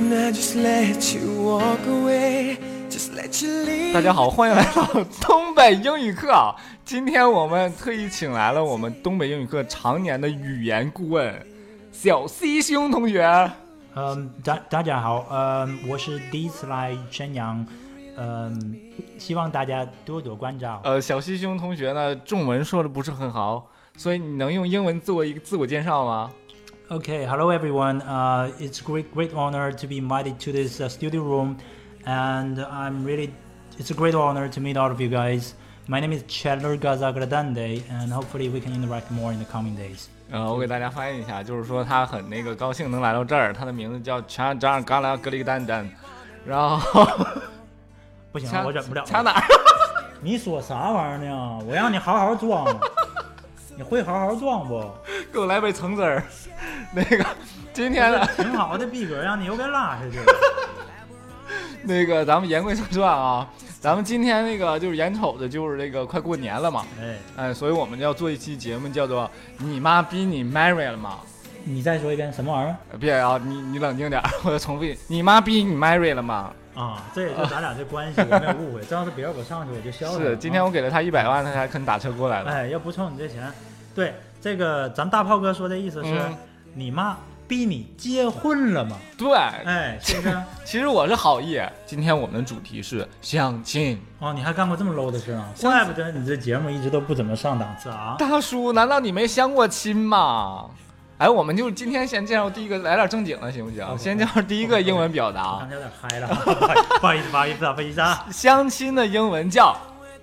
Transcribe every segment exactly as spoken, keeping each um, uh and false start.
大家好，欢迎来到东北英语课啊！今天我们特意请来了我们东北英语课常年的语言顾问小 C 兄同学。 嗯，大大家好，嗯，我是第一次来沈阳，嗯，希望大家多多关照。 呃，小 C 兄同学呢，中文说的不是很好，所以你能用英文做一个自我介绍吗？ Okay, hello everyone. Uh, it's a great, great honor to be invited to this uh, studio room, and I'm really, it's a great honor to meet all of you guys. My name is Chandler Gazagradande, and hopefully we can interact more in the coming days. 呃，我给大家翻译一下，就是说他很那个高兴能来到这儿，他的名字叫查扎尔嘎拉格里丹丹，然后不行，我忍不了。 查哪儿？ 你说啥玩意儿呢？我让你好好装，你会好好装不？ 给我来杯橙汁儿。那个今天呢， 挺好的逼格，让你又给拉下去了。 那个咱们言归正传啊，咱们今天那个就是眼瞅着就是这个快过年了嘛，哎哎，所以我们要做一期节目，叫做“你妈逼你 marry 了吗？” 你再说一遍，什么玩意儿？ 别啊，你你冷静点，我再重复一，你妈逼你 marry 了吗？ 啊，这也就咱俩这关系，我没有误会。这要是别人我上去我就笑了。 是，今天我给了他一百万，他才肯打车过来了。 哎，要不凑你这钱，对这个咱大炮哥说的意思是，嗯、你妈逼你结婚了吗？ 对， 哎，是不是？ 其实我是好意。今天我们的主题是相亲。 哦，你还干过这么 low 的事啊？怪不得你这节目一直都不怎么上档次啊！ 大叔，难道你没相过亲吗？哎，我们就今天先介绍第一个，来点正经的行不行？ Okay, 先介绍第一个英文表达。 刚才有点嗨了，不好意思，不好意思，不好意思啊！ 相亲的英文叫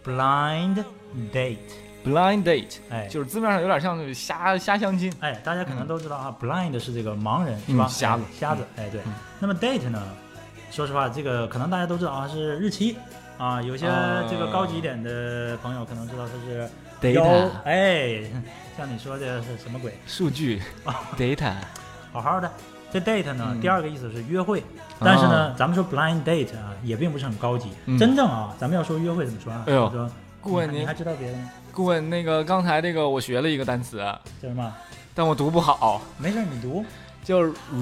blind date。blind date， 哎， 就是字面上有点像瞎瞎相亲。 哎，大家可能都知道啊、嗯、，blind 是这个盲人是吧？ 嗯、瞎子， 哎、瞎子。哎，对、嗯。那么 date 呢？说实话，这个可能大家都知道啊，是日期啊。有些这个高级一点的朋友可能知道它是 data。 哎，像你说的是什么鬼？ 数据啊 ，data。 好好的，这 date 呢、嗯，第二个意思是约会。但是呢，哦、咱们说 blind date 啊，也并不是很高级。嗯、真正啊，咱们要说约会怎么说啊？ 哎呦， 说顾问， 你还知道别的吗？ 顾问，那个刚才这个我学了一个单词， 叫什么？ 但我读不好。 没事，你读。 叫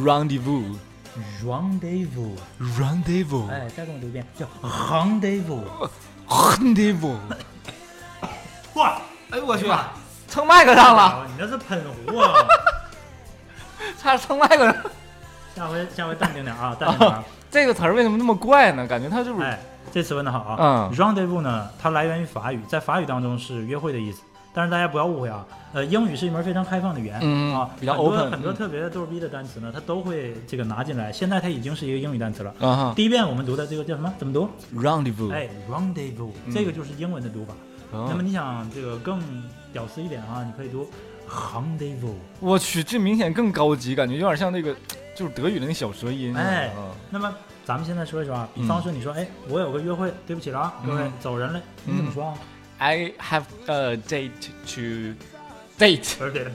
rendezvous。rendezvous。rendezvous。 哎，再跟我读一遍，叫 rendezvous。 rendezvous。 哇！ 哎呦我去，蹭麦克上了！ 你那是喷壶啊！ 差点蹭麦克上。 下回下回淡定点啊，淡定点、啊。 这个词儿为什么那么怪呢？感觉它就是。 哎，这词问的好啊。 嗯 ，rendezvous 呢，它来源于法语，在法语当中是约会的意思。但是大家不要误会啊，呃，英语是一门非常开放的语言， 嗯啊， 比较 open， 很多很多特别的逗逼的单词呢，它都会这个拿进来。现在它已经是一个英语单词了。 啊、 第一遍我们读的这个叫什么？怎么读 ？rendezvous。 哎 ，rendezvous，、嗯、这个就是英文的读法。哦、那么你想这个更屌丝一点啊，你可以读 rendezvous。 我去，这明显更高级，感觉有点像那个就是德语的那小舌音。 哎，嗯、那么咱们现在说一说啊，比方说你说，哎、嗯，我有个约会，对不起了啊，各位、嗯、走人了，你怎么说啊？ 嗯I have a date to date.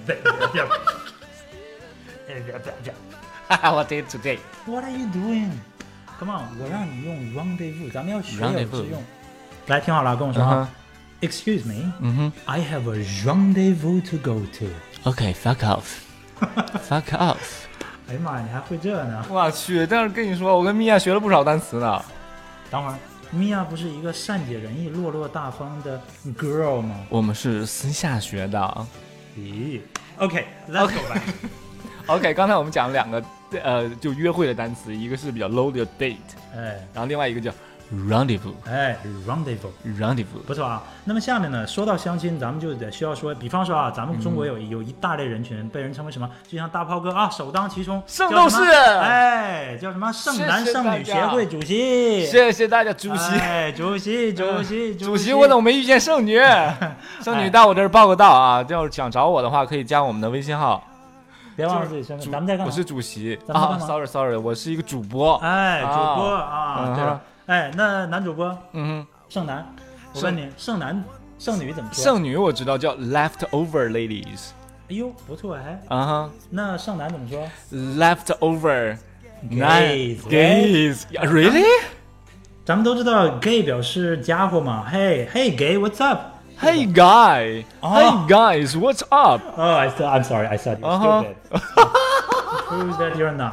I have a date to date. What are you doing? Come on， 我让你用 rendezvous， 咱们要学有致用。来，听好了，跟我说啊。Uh-huh. Excuse me. 嗯哼。 I have a rendezvous to go to. Okay, fuck off. Fuck off. 哎呀妈，你还会这呢？ 我去，但是跟你说，我跟米娅学了不少单词呢。 等会儿。米娅不是一个善解人意、落落大方的 girl 吗？ 我们是私下学的。 咦 ？OK，let's、okay, go back。OK， 刚才我们讲了两个呃，就约会的单词，一个是比较 low 的 date， 哎， 然后另外一个叫 rendezvous， 哎 ，rendezvous，rendezvous， 不错啊。那么下面呢，说到相亲，咱们就得需要说，比方说啊，咱们中国有、嗯、有一大类人群被人称为什么？就像大炮哥啊，首当其冲， 圣斗士， 哎，叫什么？剩男剩女协会主席， 谢谢大家，主席， 哎，主席，主席， 主席，我怎么没遇见剩女？剩女到我这儿报个到啊！要是想找我的话，可以加我们的微信号。 别忘了自己身份，咱们在干嘛？ 我是主席啊 ，sorry sorry， 我是一个主播。 哎，主播啊， 啊对了。哎，那男主播， 嗯哼， 剩男，我问你，剩男剩女怎么说？ 剩女我知道叫 leftover ladies。 哎呦，不错哎。 啊哈， 那剩男怎么说 ？leftover gays gays really？ 咱们都知道 gay 表示家伙嘛。Hey hey gay what's up？Hey guy， Hey guys, what's up? Oh, I I'm sorry, I said you're stupid. Prove that you're not.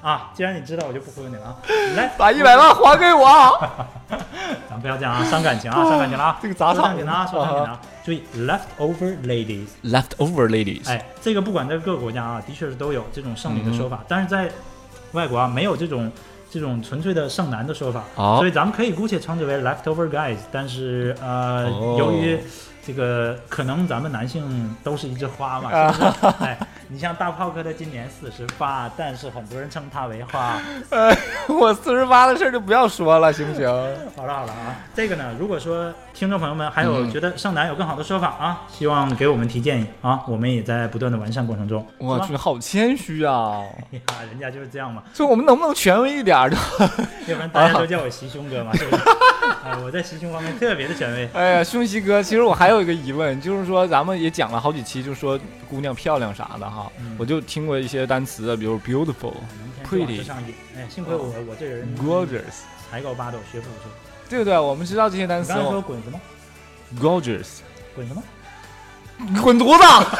啊，既然你知道，我就不忽悠你了啊。来， 把一百万还给我。 咱不要这样啊，伤感情啊，伤感情了啊。 这个砸场子啊，说正经的啊。注意 ，leftover ladies，leftover ladies， 哎，这个不管在各个国家啊，的确是都有这种剩女的说法，嗯、但是在外国啊，没有这种这种纯粹的剩男的说法，哦、所以咱们可以姑且称之为 leftover guys。但是呃，哦、由于这个可能咱们男性都是一枝花嘛，是不是？哎，你像大炮哥的今年四十八，但是很多人称他为花。 呃，我四十八的事就不要说了，行不行？ 好了好了啊，这个呢，如果说听众朋友们还有觉得剩男有更好的说法啊，嗯、希望给我们提建议啊，我们也在不断的完善过程中。 我去，好谦虚啊！ 哎呀，人家就是这样嘛。 所以我们能不能权威一点的？ 要不然大家都叫我袭胸哥嘛，是不是？哎，我在袭胸方面特别的权威。 哎呀，胸袭哥，其实我还有一个疑问，就是说咱们也讲了好几期，就说姑娘漂亮啥的哈，嗯、我就听过一些单词，比如 beautiful、pretty。 哎，幸亏我我这人 gorgeous， 才高八斗，学富五车。 对不对？我们知道这些单词。 你刚才说滚什么 ？gorgeous。 滚什么？ 滚犊子！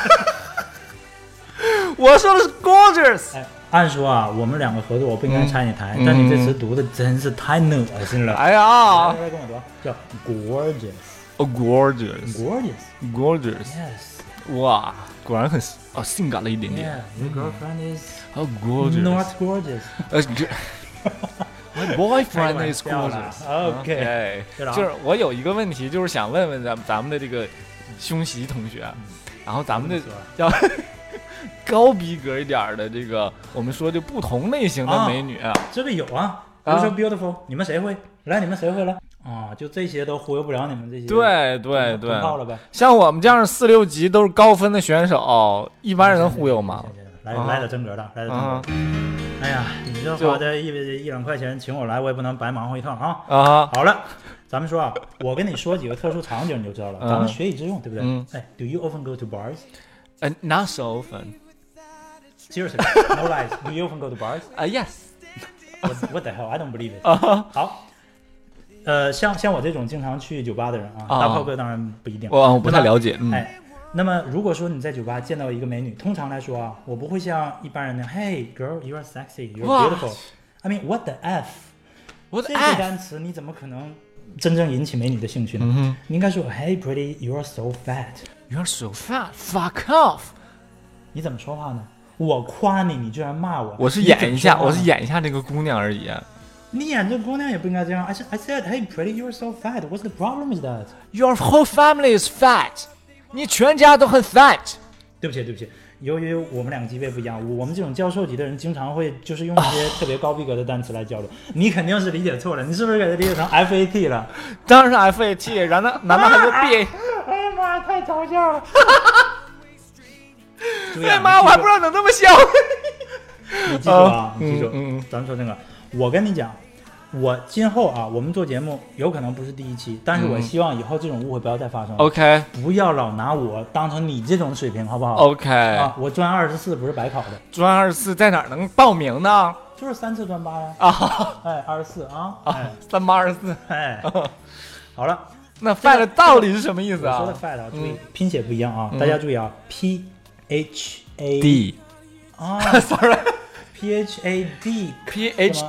我说的是 gorgeous。 哎，按说啊，我们两个合作，我不应该拆你台，嗯、但你这词读的真是太恶心了。 哎呀， 来来跟我读，叫 gorgeous。Oh, gorgeous. Gorgeous. Gorgeous. Yes. 哇，果然很哦性感了一点点。 Yeah, your girlfriend is oh gorgeous. Not gorgeous. 呃，My boyfriend is gorgeous. OK. 就是我有一个问题，就是想问问咱咱们的这个胸袭同学，然后咱们的要高逼格一点的这个，我们说的不同类型的美女， 这个有啊，比如说 beautiful， 你们谁会？来，你们谁会了？啊，就这些都忽悠不了你们这些， 对对对， 了呗。 像我们这样四六级都是高分的选手，一般人能忽悠吗？ 来来点真格的，来点真格的。哎呀，你这花这一一两块钱请我来，我也不能白忙活一趟啊。啊，好了，咱们说啊，我跟你说几个特殊场景你就知道了，咱们学以致用，对不对？嗯。哎 ，Do you often go to bars? Uh, not so often. Seriously, no lies. Do you often go to bars? Uh, yes. What, what the hell? I don't believe it. 好。呃，像像我这种经常去酒吧的人啊，大炮哥当然不一定， 我不太了解。嗯、 哎，那么如果说你在酒吧见到一个美女，通常来说啊，我不会像一般人那样 ，Hey girl, you are sexy, you are beautiful. I mean, what the f? What 这个单词你怎么可能真正引起美女的兴趣呢？嗯、你应该说 ，Hey pretty, you are so fat. You are so fat. Fuck off. 你怎么说话呢？我夸你，你居然骂我。 我是演一下，我是演一下这个姑娘而已。 你演这姑娘也不应该这样。I said, I said, hey, pretty, you are so fat. What's the problem with that? Your whole family is fat. 你全家都很 fat. 对不起，对不起。由于我们两个级别不一样，我们这种教授级的人经常会就是用一些特别高逼格的单词来交流。你肯定是理解错了，你是不是给它理解成 F A T 了？ 当然是 F A T， 然后难道还是 B A？ 哎呀妈呀，太嘲笑了！ 哎妈，我还不知道能这么笑。 你记住啊，你记住，嗯嗯，咱们说这个，我跟你讲。我今后啊，我们做节目有可能不是第一期，但是我希望以后这种误会不要再发生。 OK， 不要老拿我当成你这种水平，好不好 ？OK， 啊，我专二十四不是白考的。 专二十四在哪儿能报名呢？ 就是三次专八呀。啊，哎，二十四啊，哎， 三八二十四， 哎，好了， 那 fat 到底是什么意思啊？ 我说的 fat 啊，注意拼写不一样啊，大家注意啊 ，P H A D 啊 ，sorry，P H A D，P H。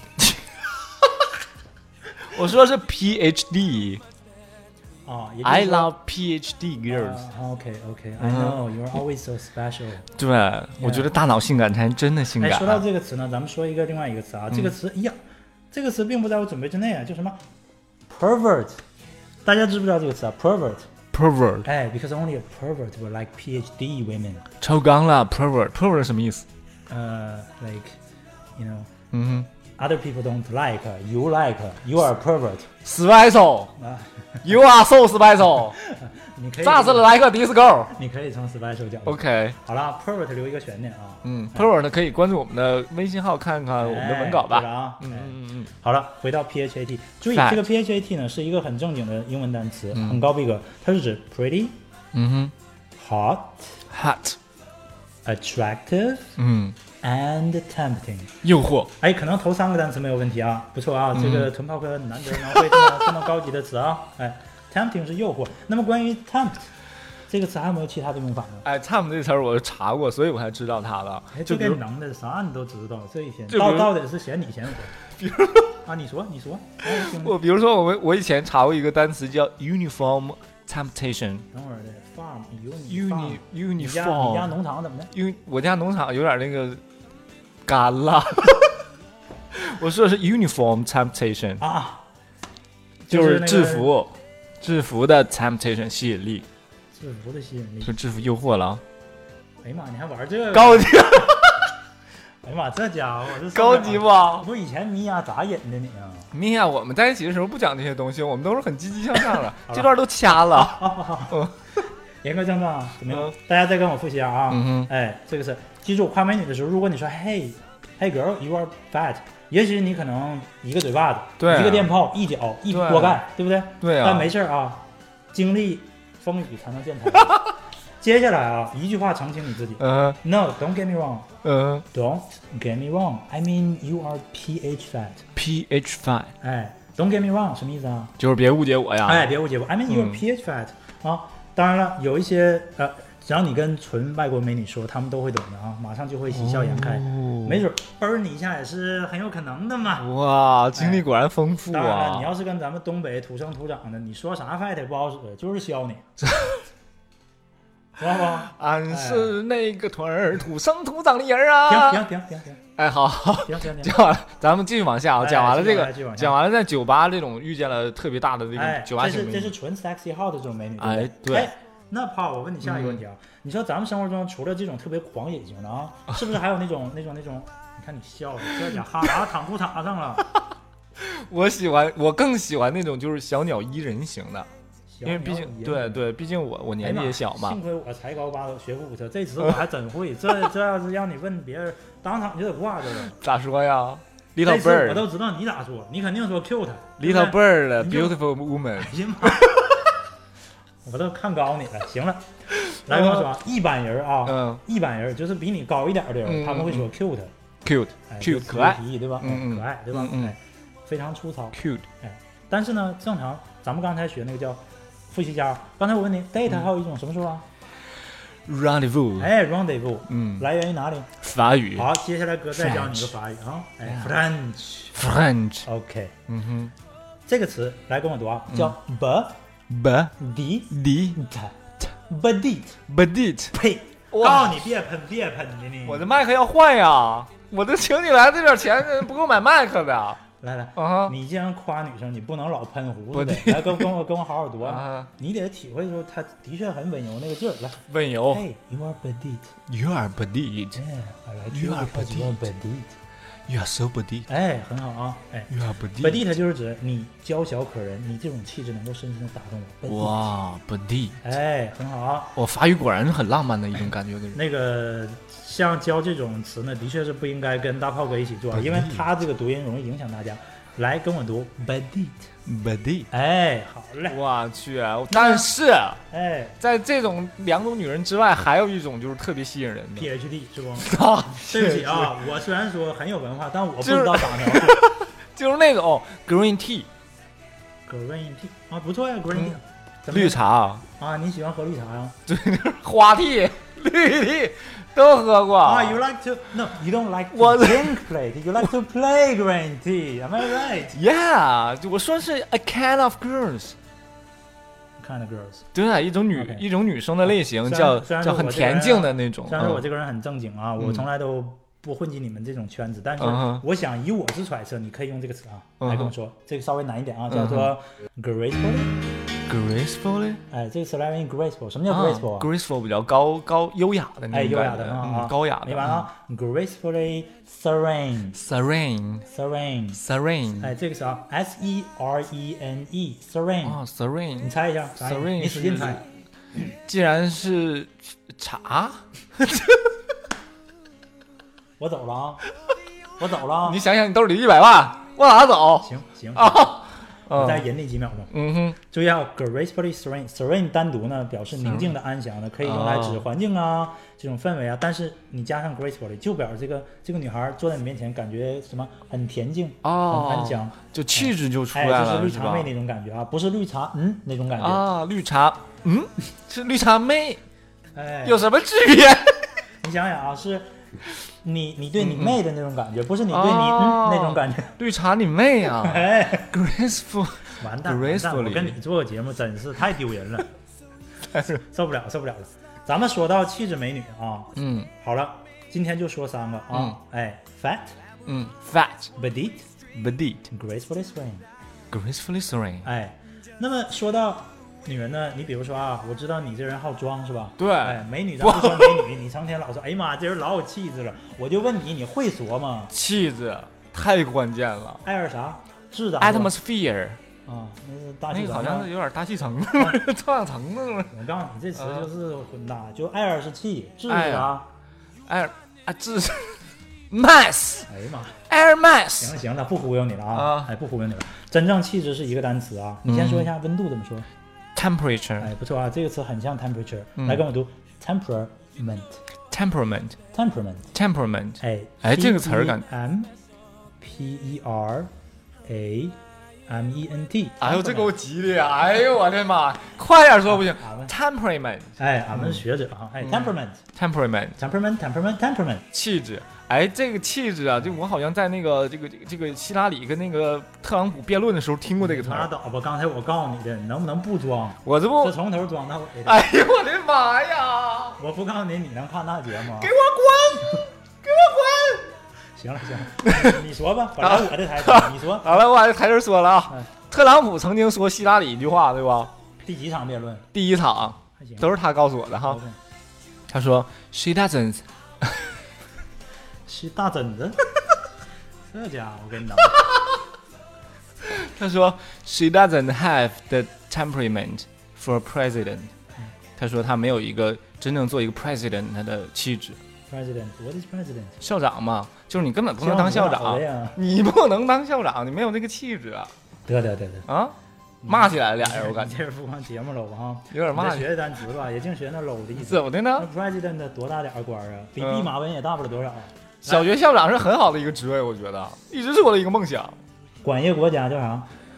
我说的是 P H D 啊 ，I love P H D girls。 OK OK，I know you're always so special。 对，我觉得大脑性感才真的性感。 哎，说到这个词呢，咱们说一个另外一个词啊，这个词，哎呀，这个词并不在我准备之内啊，叫什么 pervert？ 大家知不知道这个词啊 ？pervert。pervert。哎 ，because only a pervert will like P H D women。 超纲了 ，pervert，pervert 什么意思？ 呃 ，like you know， 嗯哼。 Other people don't like, you like, you are a pervert. Special, you are so special. 你可以炸死了来个 disco。 你可以从 special 讲。 OK， 好了 ，pervert 留一个悬念啊。 嗯 ，pervert 可以关注我们的微信号看看我们的文稿吧。 对啊， 嗯嗯嗯。 好了，回到 P H A T， 注意这个 P H A T 呢是一个很正经的英文单词，很高逼格，它是指 pretty， 嗯哼 ，hot，hot， attractive， 嗯。 and tempting， 诱惑。 哎，可能头三个单词没有问题啊，不错啊，嗯、这个纯炮哥难得能会这么这么高级的词啊。哎 ，tempting 是诱惑。那么关于 tempt 这个词还有没有其他的用法呢？ 哎 ，charm 这词儿我查过，所以我才知道它的。 哎， 就比如这个能的啥你都知道，这一天就比如到到底是嫌你嫌我？ 比如啊，你说你说，哎，我听着我比如说我们我以前查过一个单词叫 uniform temptation。 等会儿的 farm uni uni 你家你家 uniform， 农场怎么的？ 因为我家农场有点那个干了。我说的是 uniform temptation， 啊， 就是那个制服，制服的 temptation 吸引力， 制服的吸引力就。制服诱惑了。 哎呀妈，你还玩这个？ 高级， 哎呀妈，这家伙这高级吧？ 不，以前米娅咋引的你啊？ 米娅，我们在一起的时候不讲这些东西，我们都是很积极向上的。这段都掐了。 言归正传啊，怎么样？ 嗯大家再跟我复习下啊。 嗯哼， 哎，这个是记住夸美女的时候，如果你说 Hey Hey girl you are fat， 也许你可能一个嘴巴子， 对啊一个电炮，一脚一对啊锅盖，对不对？ 对啊。 但没事儿啊，经历风雨才能见彩。接下来啊，一句话澄清你自己。 嗯 No, don't get me wrong. 嗯 Don't get me wrong. I mean you are pH fat. ，pH five 哎 ，Don't get me wrong 什么意思啊？ 就是别误解我呀。 哎，别误解我。I mean you are 嗯 pH fat、啊。当然了，有一些呃，只要你跟纯外国美女说，他们都会懂的啊，马上就会喜笑颜开。 哦没准啵儿你一下也是很有可能的嘛。 哇，经历果然丰富当然了， 啊！ 你要是跟咱们东北土生土长的，你说啥 fat 也不好使，就是削你，知道吧？ 俺是那个屯儿土生土长的人啊！ 停停停停停哎，好， 停停停。 讲完了，咱们继续往下啊。 哎讲完了这个继续往，下讲完了在酒吧这种遇见了特别大的这哎， 种酒吧这是型美女， 这是纯 sexy hot 的这种美女， 哎对不对哎，那炮，我问你下一个问题啊，你说咱们生活中除了这种特别狂野型的啊，是不是还有那种那种那种？你看你笑的，这家哈喇躺裤衩上了。 我喜欢，我更喜欢那种就是小鸟依人型的，因为毕竟对对，毕竟我我年纪也小嘛。 幸亏我才高八斗，学富五车，这词我还真会。这这要是让你问别人，当场就得挂这个。 咋说呀？Little 这次我 bird，Little 都知道你咋说，你肯定说 cute。 bird， 你就 beautiful woman。 哎呀妈！我都看高你了。行了，来跟我说啊，一般人啊， 嗯一般人就是比你高一点的人， 嗯他们会说 cute， ，cute 哎 cute 就可爱提对吧？ 嗯嗯可爱对吧？ 嗯嗯哎，非常粗糙。 cute， 但是呢，正常咱们刚才学那个叫复习家，刚才我问你 date 还有一种什么说啊？ rendezvous， 哎 rendezvous， 嗯， 来源于哪里？ 法语好，接下来哥再教你个法语啊，哎 French。 French， OK， 嗯哼这个词来跟我读啊，叫 b ，b d d t b d t bedit， 呸！ 哇告诉你别喷别喷的你。 我的麦克要换呀！我都请你来这点钱不够买麦克的。 来来， 啊哈你既然夸女生，你不能老喷胡子的不， 来跟跟我跟我好好读啊。 啊， 你得体会出她的确很温柔那个劲儿。来温柔。 ，Hey, you are petite. You are bedit. Yeah, I like You you are because you are petite. You are so bedit. 哎，很好啊，哎 You are bedit. ，petite 就是指你娇小可人，你这种气质能够深深的打动我。petite 哇，bedit。 哎，很好啊。 我法语果然是很浪漫的一种感觉的人。 那个像教这种词呢，的确是不应该跟大炮哥一起做， petite 因为他这个读音容易影响大家。来，跟我读 petite。 bedit。 哎，好嘞。 我去，但是哎在这种两种女人之外，还有一种就是特别吸引人的。 ，PhD 是不？ 啊， 对不起啊，我虽然说很有文化，但我不就是知道咋描述。 就是那种 green tea Green tea 啊，不错呀，Green tea 怎么样绿茶、 啊，你喜欢喝绿茶呀？ 花 tea、绿 tea 都喝过。 啊，You like to no, you don't like to 我 drink green tea, you like to play green tea. Am I right? Yeah，我说是 a kind of girls。 Kind of girls. 对，一种女 OK 一种女生的类型， 虽然叫虽然叫很恬说我这个人静的那种。 虽然说我嗯这个人很正经啊，我嗯从来都不混进你们这种圈子，但是嗯哼我想以我之揣测，你可以用这个词啊嗯哼来跟我说，这个稍微难一点啊， 嗯哼叫做 gracefully。 gracefully， 哎，这个词来源于 graceful，什么叫啊 graceful 啊？ graceful 比较高高优雅的那哎，优雅种感觉， 的很好啊嗯，高雅的。 明白啊？gracefully serene serene serene。 serene， 哎，这个是啊，S E R E N E serene。 哦你 ，serene 猜一下啥意思？ serene 你使劲猜。 既然是茶， 我走了啊，我走了啊。 你想想，你兜里一百万，往哪走行行， 啊？ 我再嗯忍你几秒钟。 嗯哼， 注意啊 ，gracefully serene，serene 单独呢表示宁静的、安详的，可以用来指环境啊、这种氛围啊。但是你加上 gracefully，就表示这个这个女孩坐在你面前，感觉什么很恬静、 哦， 很安详， 就气质就出哎， 来了， 就是绿是吧茶妹那种感觉啊，不是绿茶，嗯，那种感觉。 啊，绿茶嗯，是绿茶妹， 哎， 有什么区别？ 你想想啊，是你你对你妹的那种感觉， 嗯、 不是你对你、哦、嗯那种感觉。 绿茶你妹啊！ 哎 ，graceful， 完蛋，完蛋！我跟你做个节目真是太丢人了，受不了，受不了了。咱们说到气质美女啊， 嗯， 好了，今天就说三个啊，嗯、哎 ，fat， 嗯 ，fat，petite，petite，gracefully swing，gracefully swing， 哎，那么说到女人呢，你比如说啊，我知道你这人好装是吧？ 对， 哎，美女咱不说美女，你成天老说，哎呀妈，这人老有气质了。我就问你，你会说吗？ 气质太关键了。 艾尔啥？质的 atmosphere 啊，那是大气层， 那个好像是有点大气层，臭氧层的。 我告诉你，这词就是混搭，就艾尔是气，质是啥？ 艾尔啊，质 mass。 哎呀妈 ，air mass。 行了行了，不忽悠你了啊！哎，不忽悠你了。真正气质是一个单词啊，你先说一下温度怎么说？ temperature， 哎，不错啊，这个词很像 temperature，、嗯、来跟我读 temperament，temperament，temperament， 哎哎，这个词儿感 ，M P E R A M E N T， 哎呦，这给我急的呀！哎呦，我的妈，快点说不行 ，temperament， 哎，俺们是学者啊，哎 ，temperament，temperament，temperament，temperament， 气质。哎，这个气质啊，就我好像在那个这个这个这个希拉里跟那个特朗普辩论的时候听过这个词。 拉倒吧，刚才我告诉你的，你能不能不装？ 我这不这从头装到尾的。 哎呦我的妈呀！ 我不告诉你，你能看那节目？ 给我滚！给我滚！ 行了行了，你说吧，本来我的台词，你说。 好了，我把这台词说了啊。特朗普曾经说希拉里一句话，对吧？ 第几场辩论？ 第一场，都是他告诉我的哈。他说 ：“She doesn't。” 是大疹子，这家伙我跟你讲， 他说 She doesn't have the temperament for a president、嗯。他说他没有一个真正做一个 president 他的气质。 President，what is president？ 校长嘛，就是你根本不能当校长，你不能当校长，你没有那个气质啊。 得得得得啊，骂起来了俩人，我感觉。 这是不光节目了啊， 有点骂。 学的单词吧，也净学那 low 的意思。 怎么的呢？ 那 president 多大点官啊？比弼马温也大不了多少。 小学校长是很好的一个职位，我觉得一直是我的一个梦想。 管一个国家叫啥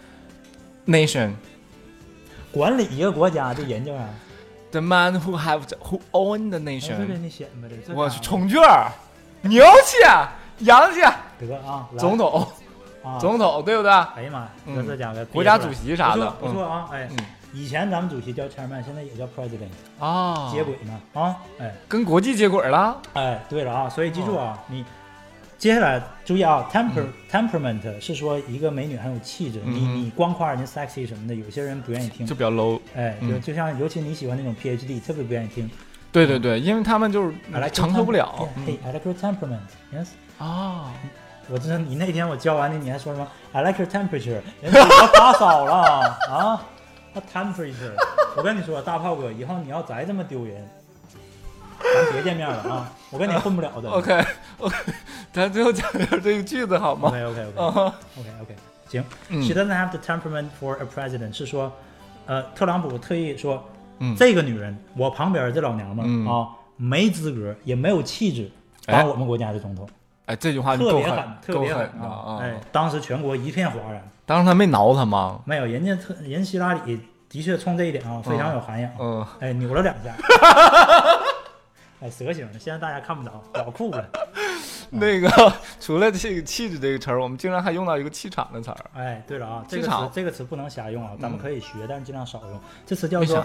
？Nation。 管理一个国家的人叫啥 ？The man who have the, who own the nation。 这给你显摆的。 我是充券儿，牛气，洋气。 得啊， 总统， 啊， 总统对不对？ 哎呀妈，这这家伙国家主席啥的， 不错啊，哎。以前咱们主席叫 chairman， 现在也叫 president 啊， 接轨呢啊，哎， 跟国际接轨了。 哎，对了啊，所以记住啊，哦、你接下来注意啊 ，temper、嗯、temperament 是说一个美女很有气质，嗯、你你光夸人家 sexy 什么的，有些人不愿意听， 就比较 low。 哎，就、嗯、就像尤其你喜欢那种 P H D， 特别不愿意听。 对对对，因为他们就是承受不了。 Hey, I like your temperament. Yes. 啊。 我知道你那天我教完你，你还说什么 ？I like your temperature， 人家要发烧了啊！他 temperature， 我跟你说，大炮哥，以后你要再这么丢人，咱别见面了啊！我跟你混不了的。 OK OK， 咱最后讲点这个句子好吗 ？OK OK OK OK OK， 行。嗯、She doesn't have the temperament for a president， 是说，呃，特朗普特意说，嗯、这个女人，我旁边这老娘们、嗯、啊，没资格，也没有气质当我们国家的总统。 哎，这句话特别狠， 特别狠的啊！哎，当时全国一片哗然。 当时他没挠他吗？ 没有，人家特人希拉里的确冲这一点啊，非常有涵养。 嗯， 哎，扭了两下。哎，蛇形的，现在大家看不着，老酷了。 那个除了这个气质这个词儿，我们经常还用到一个气场的词儿。 哎，对了啊，这个词这个词不能瞎用啊，咱们可以学，但是尽量少用。这词叫做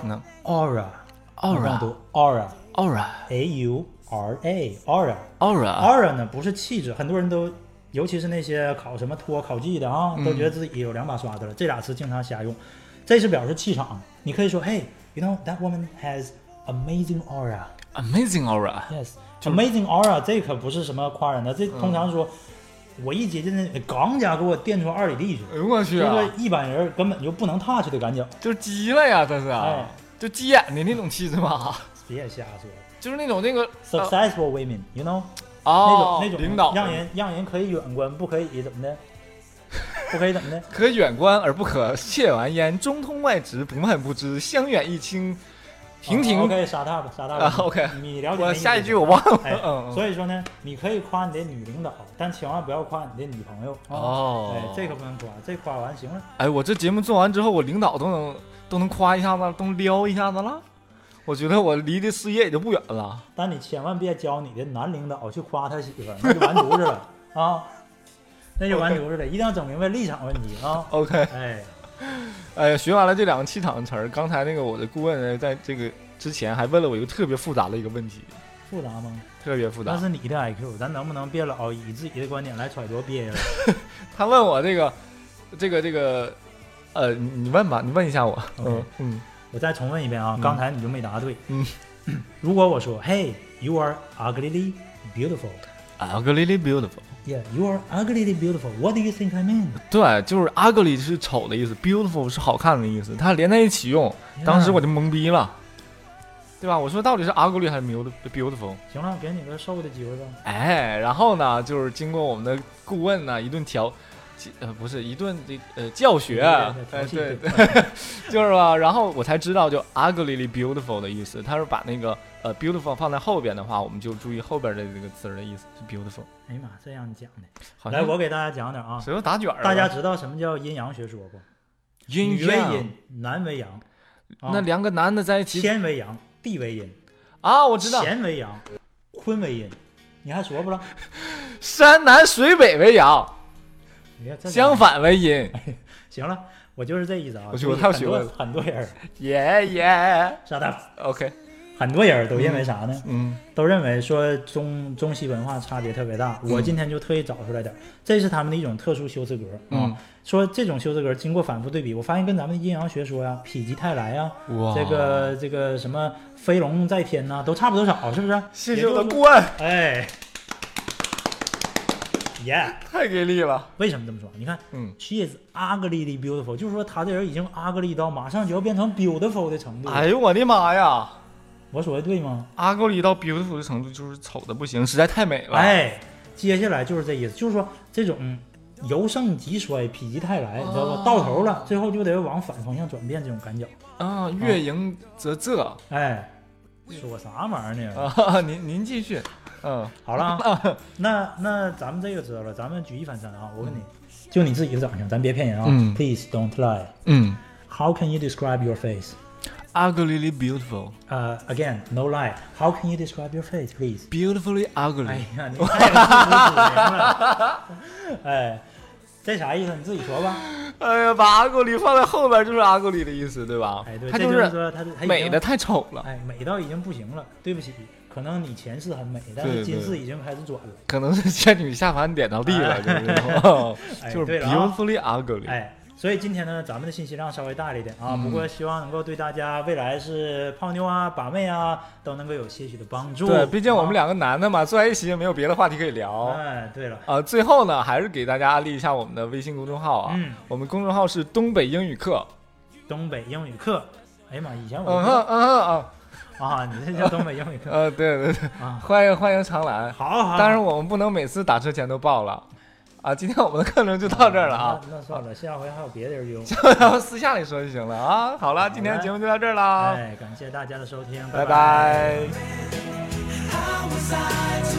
aura，aura，aura，aura，a u r a，aura，aura，aura 呢不是气质，很多人都，尤其是那些考什么托、考技的啊，都觉得自己有两把刷子了。这俩词经常瞎用，这是表示气场。你可以说 ，Hey, you know that woman has amazing aura。Amazing aura。Yes。Amazing aura 这可不是什么夸人的，这通常说，嗯、我一接近那钢架给我电出二里地去， 哎呦我去、啊， 这个一般人根本就不能 touch 的感觉， 就是急了呀，这是，哎，就急眼的那种气质嘛。 别瞎说， 就是那种那个 successful women，you know， 哦， 那种那种领导， 让人让人可以远观，不可以怎么的，不可以怎么的， 可远观而不可亵玩焉，中通外直，不漫不知，相远益清。婷婷 ，OK， 沙大吧，沙大吧、 啊、，OK， 你了解我下一句我忘了。 哎、嗯，所以说呢，你可以夸你的女领导，但千万不要夸你的女朋友。 哦， 哎，这个不能夸，这夸完行了。 哎，我这节目做完之后，我领导都能都能夸一下子，都能撩一下子了。我觉得我离这事业也就不远了。 但你千万别教你的男领导去夸他媳妇儿，那就完犊子了啊！那就完犊子了， okay. 一定要整明白立场问题啊。 OK， 哎， 哎，学完了这两个气场的词儿，刚才那个我的顾问在这个之前还问了我一个特别复杂的一个问题。 复杂吗？ 特别复杂。 那是你的 I Q， 咱能不能别老以自己的观点来揣度别人？ 他问我这个，这个，这个，呃，你你问吧，你问一下我。 Okay. 嗯嗯。 我再重问一遍啊， 嗯、 刚才你就没答对。 嗯。 如果我说 ，Hey, you are uglily beautiful。Uglily beautiful。Yeah, you are uglily beautiful. What do you think I mean？ 对，就是 ugly 是丑的意思 ，beautiful 是好看的意思，它连在一起用， yeah. 当时我就懵逼了。对吧？我说到底是 ugly 还是 beautiful？ 行了，给你个瘦的机会吧。 哎，然后呢，就是经过我们的顾问呢一顿调，呃，不是一顿这呃教学，哎，对对，就是吧。然后我才知道，就 ugly beautiful 的意思，他是把那个呃 beautiful 放在后边的话，我们就注意后边的这个词的意思是 beautiful。 哎呀妈，这样讲的。来，我给大家讲点啊。 谁又打卷了？ 大家知道什么叫阴阳学说不？ 阴女为阴，男为阳。 啊、那两个男的在一起， 天为阳。地为阴啊，我知道。 乾为阳，坤为阴，你还说不了？ 山南水北为阳，相反为阴。 行了，我就是这意思啊。 我我太学会了。 很多人， 耶耶， 傻蛋。 OK， 很多人都认为啥呢？ 嗯， 都认为说中中西文化差别特别大。 嗯、 我今天就特意找出来点，这是他们的一种特殊修辞格啊。 嗯说这种修辞格经过反复对比，我发现跟咱们的阴阳学说呀、否极泰来呀、这个这个什么飞龙在天呐、啊，都差不多少，是不是？ 谢谢我的顾问。 哎，耶、yeah ， 太给力了！ 为什么这么说？你看， 嗯 ，she is ugly beautiful， 就是说他这人已经 ugly 到马上就要变成 beautiful 的程度。 哎呦我的妈呀！ 我说的对吗 ？ugly 到 beautiful 的程度就是丑的不行，实在太美了。 哎，接下来就是这意思，就是说这种。嗯由盛及衰，否极泰来，你知道吧？到头了，最后就得往反方向转变，这种感觉啊，月盈则仄。 哎，说啥玩意儿呢？ 啊，您您继续。嗯， 好了啊，那那咱们这个知道了，咱们举一反三啊。我问你，就你自己的长相，咱别骗人啊。 嗯 Please don't lie。 嗯。 How can you describe your face? Uglily beautiful. Uh, again, no lie. How can you describe your face, please? Beautifully ugly. 哎呀，你太不主名了。哎。这啥意思？你自己说吧。 哎呀，把 ugly 放在后边就是 ugly 的意思，对吧？ 哎，对， 它就是说它美的太丑了。 哎，美到已经不行了。对不起，可能你前世很美，但是今世已经开始转了。 可能是仙女下凡点到地了， 哎、 就是 beautifully ugly。 哎。所以今天呢，咱们的信息量稍微大了一点啊， 嗯、 不过希望能够对大家未来是泡妞啊、把妹啊，都能够有些许的帮助。 对，毕竟我们两个男的嘛，坐在一起也没有别的话题可以聊。 哎，对了， 啊、呃，最后呢，还是给大家安利一下我们的微信公众号啊， 嗯， 我们公众号是东北英语课。 东北英语课，哎呀妈，以前我嗯嗯嗯嗯啊，你这叫东北英语课？ 呃，对对对， 啊， 欢迎欢迎常来。 好好， 当然我们不能每次打车前都报了。啊，今天我们的课程就到这儿了啊！ 那, 那算了，下回还有别的人用， 然后私下里说就行了啊。好了，今天的节目就到这儿了。 哎，感谢大家的收听， 拜拜。 拜拜。